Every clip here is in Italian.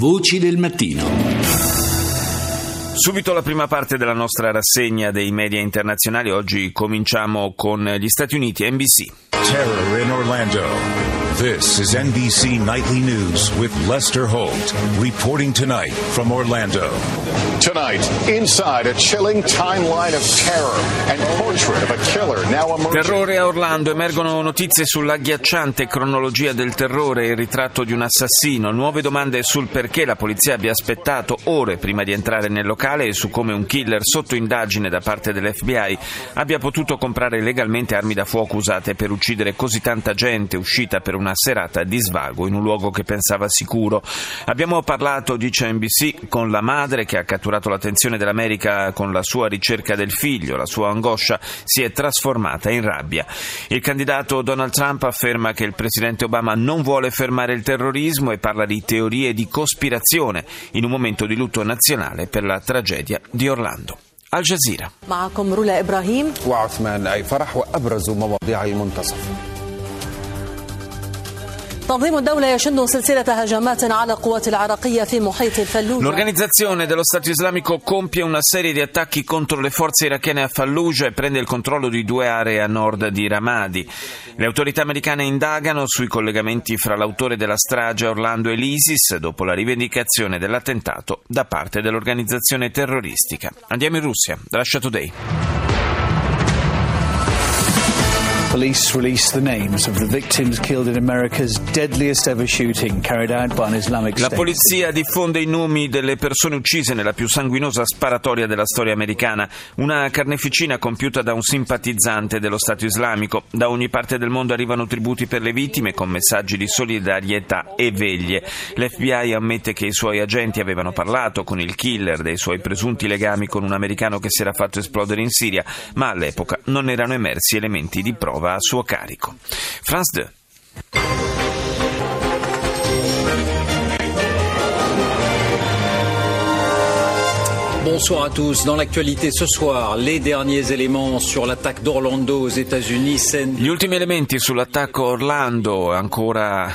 Voci del mattino. Subito la prima parte della nostra rassegna dei media internazionali. Oggi cominciamo con gli Stati Uniti, NBC. Terror in Orlando. This is NBC Nightly News with Lester Holt, reporting tonight from Orlando. Tonight, inside a chilling timeline of terror and portrait of a killer now emerging. Terrore a Orlando, emergono notizie sull'agghiacciante cronologia del terrore e il ritratto di un assassino, nuove domande sul perché la polizia abbia aspettato ore prima di entrare nel locale e su come un killer sotto indagine da parte dell'FBI abbia potuto comprare legalmente armi da fuoco usate per uccidere così tanta gente uscita per una serata di svago in un luogo che pensava sicuro. Abbiamo parlato, dice NBC, con la madre che ha catturato l'attenzione dell'America con la sua ricerca del figlio. La sua angoscia si è trasformata in rabbia. Il candidato Donald Trump afferma che il presidente Obama non vuole fermare il terrorismo e parla di teorie di cospirazione in un momento di lutto nazionale per la tragedia di Orlando. Al Jazeera. معكم رولا إبراهيم وعثمان أي فرح وأبرز مواضيع المنتصف. L'organizzazione dello Stato Islamico compie una serie di attacchi contro le forze irachene a Fallujah e prende il controllo di 2 aree a nord di Ramadi. Le autorità americane indagano sui collegamenti fra l'autore della strage a Orlando e l'ISIS dopo la rivendicazione dell'attentato da parte dell'organizzazione terroristica. Andiamo in Russia, Russia Today. Police released the names of the victims killed in America's deadliest ever shooting carried out by an Islamic State. La polizia diffonde i nomi delle persone uccise nella più sanguinosa sparatoria della storia americana, una carneficina compiuta da un simpatizzante dello Stato Islamico. Da ogni parte del mondo arrivano tributi per le vittime con messaggi di solidarietà e veglie. L'FBI ammette che i suoi agenti avevano parlato con il killer dei suoi presunti legami con un americano che si era fatto esplodere in Siria, ma all'epoca non erano emersi elementi di prova a suo carico. France 2. Bonsoir à tous. Dans l'actualité ce soir, les derniers éléments sur l'attaque d'Orlando aux États-Unis. Gli ultimi elementi sull'attacco a Orlando, ancora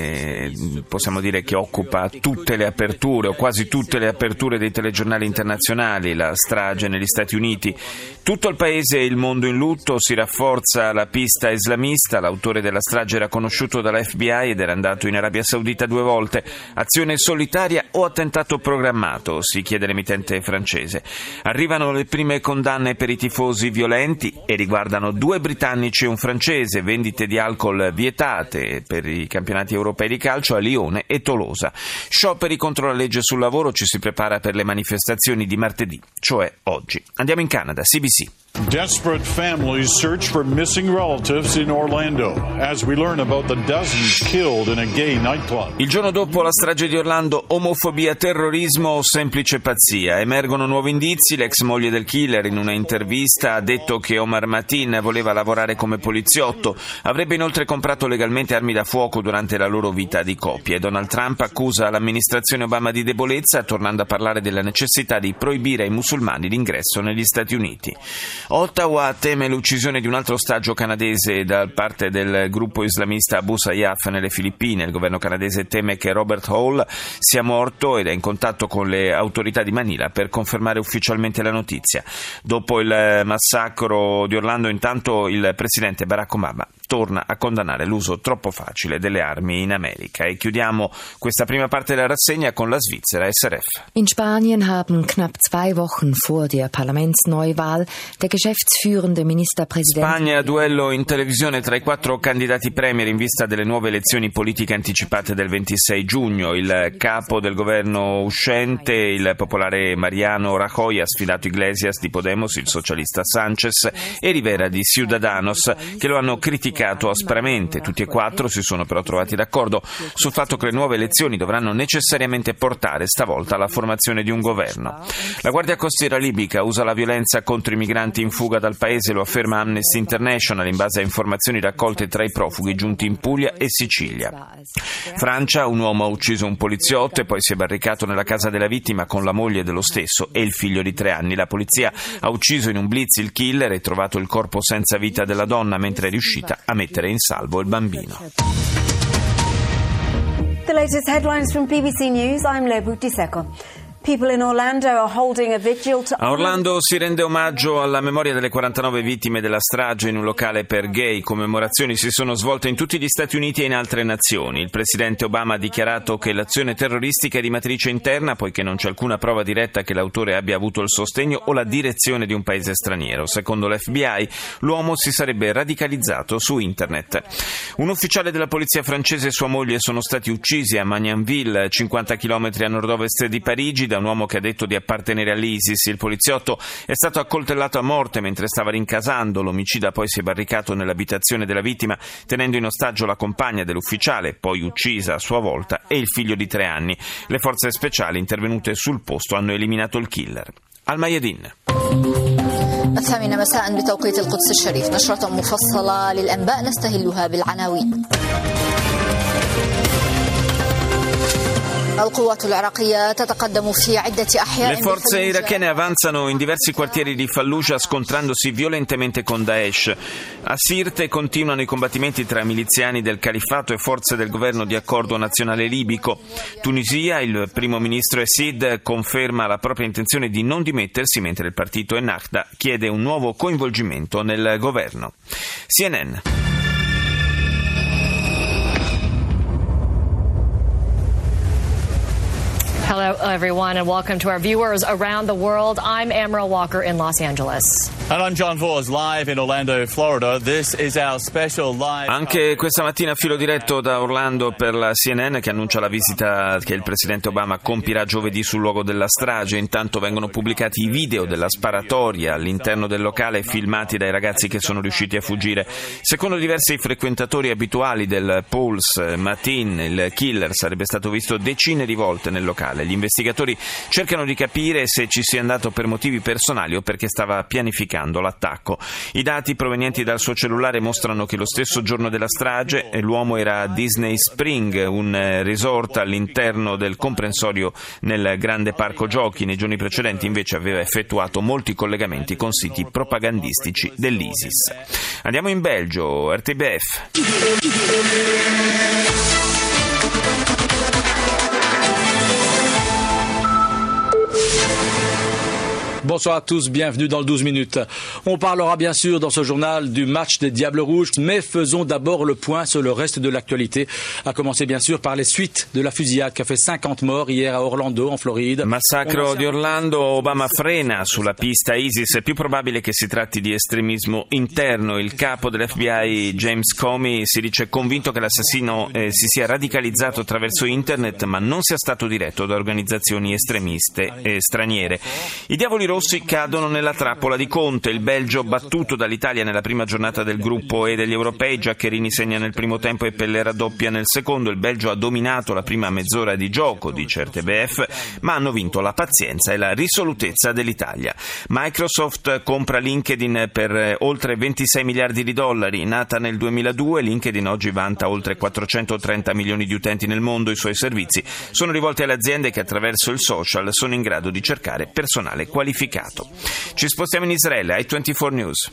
possiamo dire che occupa tutte le aperture o quasi tutte le aperture dei telegiornali internazionali, la strage negli Stati Uniti. Tutto il paese e il mondo in lutto, si rafforza la pista islamista, l'autore della strage era conosciuto dalla FBI ed era andato in Arabia Saudita 2 volte. Azione solitaria o attentato programmato, si chiede l'emittente francese. Arrivano le prime condanne per i tifosi violenti e riguardano 2 britannici e un francese, vendite di alcol vietate per i campionati europei di calcio a Lione e Tolosa. Scioperi contro la legge sul lavoro, ci si prepara per le manifestazioni di martedì, cioè oggi. Andiamo in Canada, CBC. Desperate families search for missing relatives in Orlando as we learn about the dozens killed in a gay nightclub. Il giorno dopo la strage di Orlando, omofobia, terrorismo o semplice pazzia? Emergono nuovi indizi. L'ex moglie del killer in una intervista ha detto che Omar Mateen voleva lavorare come poliziotto, avrebbe inoltre comprato legalmente armi da fuoco durante la loro vita di coppia. Donald Trump accusa l'amministrazione Obama di debolezza, tornando a parlare della necessità di proibire ai musulmani l'ingresso negli Stati Uniti. Ottawa teme l'uccisione di un altro ostaggio canadese da parte del gruppo islamista Abu Sayyaf nelle Filippine. Il governo canadese teme che Robert Hall sia morto ed è in contatto con le autorità di Manila per confermare ufficialmente la notizia. Dopo il massacro di Orlando, intanto, il presidente Barack Obama torna a condannare l'uso troppo facile delle armi in America. E chiudiamo questa prima parte della rassegna con la Svizzera, SRF. In Spanien haben knapp 2 Wochen vor der Parlamentsneuwahl der geschäftsführende Ministerpräsident. Spagna, duello in televisione tra i 4 candidati premier in vista delle nuove elezioni politiche anticipate del 26 giugno. Il capo del governo uscente, il popolare Mariano Rajoy, ha sfidato Iglesias di Podemos, il socialista Sanchez e Rivera di Ciudadanos, che lo hanno criticato aspramente. Tutti e 4 si sono però trovati d'accordo sul fatto che le nuove elezioni dovranno necessariamente portare stavolta alla formazione di un governo. La Guardia Costiera libica usa la violenza contro i migranti in fuga dal paese, lo afferma Amnesty International in base a informazioni raccolte tra i profughi giunti in Puglia e Sicilia. Francia, un uomo ha ucciso un poliziotto e poi si è barricato nella casa della vittima con la moglie dello stesso e il figlio di 3 anni. La polizia ha ucciso in un blitz il killer e trovato il corpo senza vita della donna mentre è riuscita a mettere in salvo il bambino. latest headlines from BBC News. I'm Lebu Diseko. People in Orlando are holding a vigil to... A Orlando si rende omaggio alla memoria delle 49 vittime della strage in un locale per gay. Commemorazioni si sono svolte in tutti gli Stati Uniti e in altre nazioni. Il presidente Obama ha dichiarato che l'azione terroristica è di matrice interna, poiché non c'è alcuna prova diretta che l'autore abbia avuto il sostegno o la direzione di un paese straniero. Secondo l'FBI, l'uomo si sarebbe radicalizzato su internet. Un ufficiale della polizia francese e sua moglie sono stati uccisi a Magnanville, 50 km a nord-ovest di Parigi, da un uomo che ha detto di appartenere all'ISIS. Il poliziotto è stato accoltellato a morte mentre stava rincasando. L'omicida poi si è barricato nell'abitazione della vittima, tenendo in ostaggio la compagna dell'ufficiale, poi uccisa a sua volta, e il figlio di 3 anni. Le forze speciali intervenute sul posto hanno eliminato il killer. Al Mayadin. 8 مساء بتوقيت القدس الشريف نشرة مفصلة للأنباء نستهلها بالعناوين. Le forze irachene avanzano in diversi quartieri di Fallujah scontrandosi violentemente con Daesh. A Sirte continuano i combattimenti tra miliziani del califfato e forze del governo di accordo nazionale libico. Tunisia, il primo ministro Essid conferma la propria intenzione di non dimettersi, mentre il partito Ennahda chiede un nuovo coinvolgimento nel governo. CNN. Hello, everyone, and welcome to our viewers around the world. I'm Amril Walker in Los Angeles. And I'm John Vors, live in Orlando, Florida. This is our special live... Anche questa mattina filo diretto da Orlando per la CNN, che annuncia la visita che il presidente Obama compirà giovedì sul luogo della strage. Intanto vengono pubblicati i video della sparatoria all'interno del locale, filmati dai ragazzi che sono riusciti a fuggire. Secondo diversi frequentatori abituali del Pulse, Matin, il killer, sarebbe stato visto decine di volte nel locale. Gli investigatori cercano di capire se ci sia andato per motivi personali o perché stava pianificando l'attacco. I dati provenienti dal suo cellulare mostrano che lo stesso giorno della strage l'uomo era a Disney Spring, un resort all'interno del comprensorio nel grande parco giochi. Nei giorni precedenti invece aveva effettuato molti collegamenti con siti propagandistici dell'ISIS. Andiamo in Belgio, RTBF. Bonsoir à tous, bienvenue dans le 12 minutes. On parlera bien sûr dans ce journal du match des Diables Rouges, mais faisons d'abord le point sur le reste de l'actualité, à commencer bien sûr par les suites de la fusillade qui a fait 50 morts hier à Orlando, en Floride. Massacro di Orlando, Obama frena sulla pista ISIS, è più probabile che si tratti di estremismo interno. Il capo dell'FBI James Comey si dice convinto che l'assassino si sia radicalizzato attraverso internet, ma non sia stato diretto da organizzazioni estremiste straniere. I diavoli rossi cadono nella trappola di Conte. Il Belgio battuto dall'Italia nella prima giornata del gruppo E degli europei. Giaccherini segna nel primo tempo e Pellè raddoppia nel secondo. Il Belgio ha dominato la prima mezz'ora di gioco, dice RTBF, ma hanno vinto la pazienza e la risolutezza dell'Italia. Microsoft compra LinkedIn per oltre 26 miliardi di dollari. Nata nel 2002, LinkedIn oggi vanta oltre 430 milioni di utenti nel mondo. I suoi servizi sono rivolti alle aziende che attraverso il social sono in grado di cercare personale qualificato. Ci spostiamo in Israele, i24 News.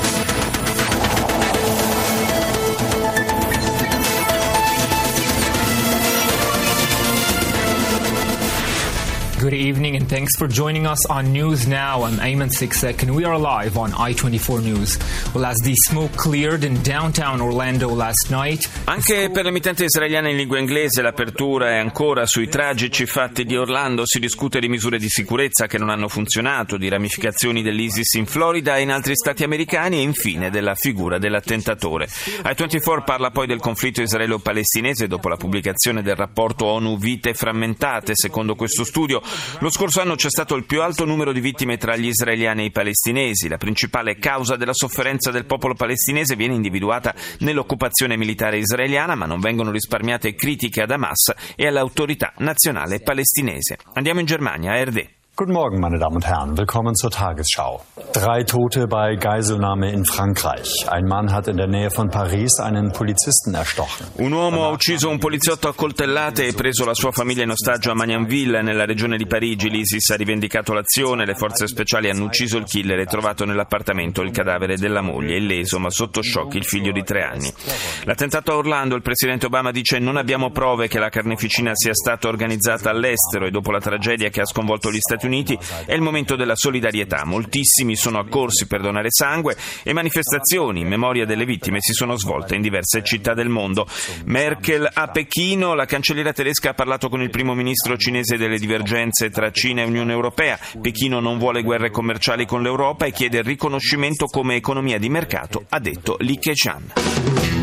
Good evening and thanks for joining us on News Now. I'm Ayman Siksek and we are live on I24 News. Well, as the smoke cleared in downtown Orlando last night... Anche per l'emittente israeliana in lingua inglese l'apertura è ancora sui tragici fatti di Orlando. Si discute di misure di sicurezza che non hanno funzionato, di ramificazioni dell'ISIS in Florida e in altri stati americani e infine della figura dell'attentatore. I24 parla poi del conflitto israelo-palestinese dopo la pubblicazione del rapporto ONU Vite frammentate. Secondo questo studio, lo scorso anno c'è stato il più alto numero di vittime tra gli israeliani e i palestinesi. La principale causa della sofferenza del popolo palestinese viene individuata nell'occupazione militare israeliana, ma non vengono risparmiate critiche ad Hamas e all'autorità nazionale palestinese. Andiamo in Germania, ARD. Guten Morgen, meine Damen und Herren. Willkommen zur Tagesschau. 3 Tote bei Geiselnahme in Frankreich. Ein Mann hat in der Nähe von Paris einen Polizisten erstochen. Un uomo ha ucciso un poliziotto a coltellate e preso la sua famiglia in ostaggio a Magnanville, nella regione di Parigi. L'ISIS ha rivendicato l'azione, le forze speciali hanno ucciso il killer e trovato nell'appartamento il cadavere della moglie, illeso ma sotto shock il figlio di 3 anni. L'attentato a Orlando, il presidente Obama dice: non abbiamo prove che la carneficina sia stata organizzata all'estero, e dopo la tragedia che ha sconvolto gli Stati Uniti è il momento della solidarietà. Moltissimi sono accorsi per donare sangue e manifestazioni in memoria delle vittime si sono svolte in diverse città del mondo. Merkel a Pechino, la cancelliera tedesca ha parlato con il primo ministro cinese delle divergenze tra Cina e Unione Europea. Pechino non vuole guerre commerciali con l'Europa e chiede il riconoscimento come economia di mercato, ha detto Li Keqiang.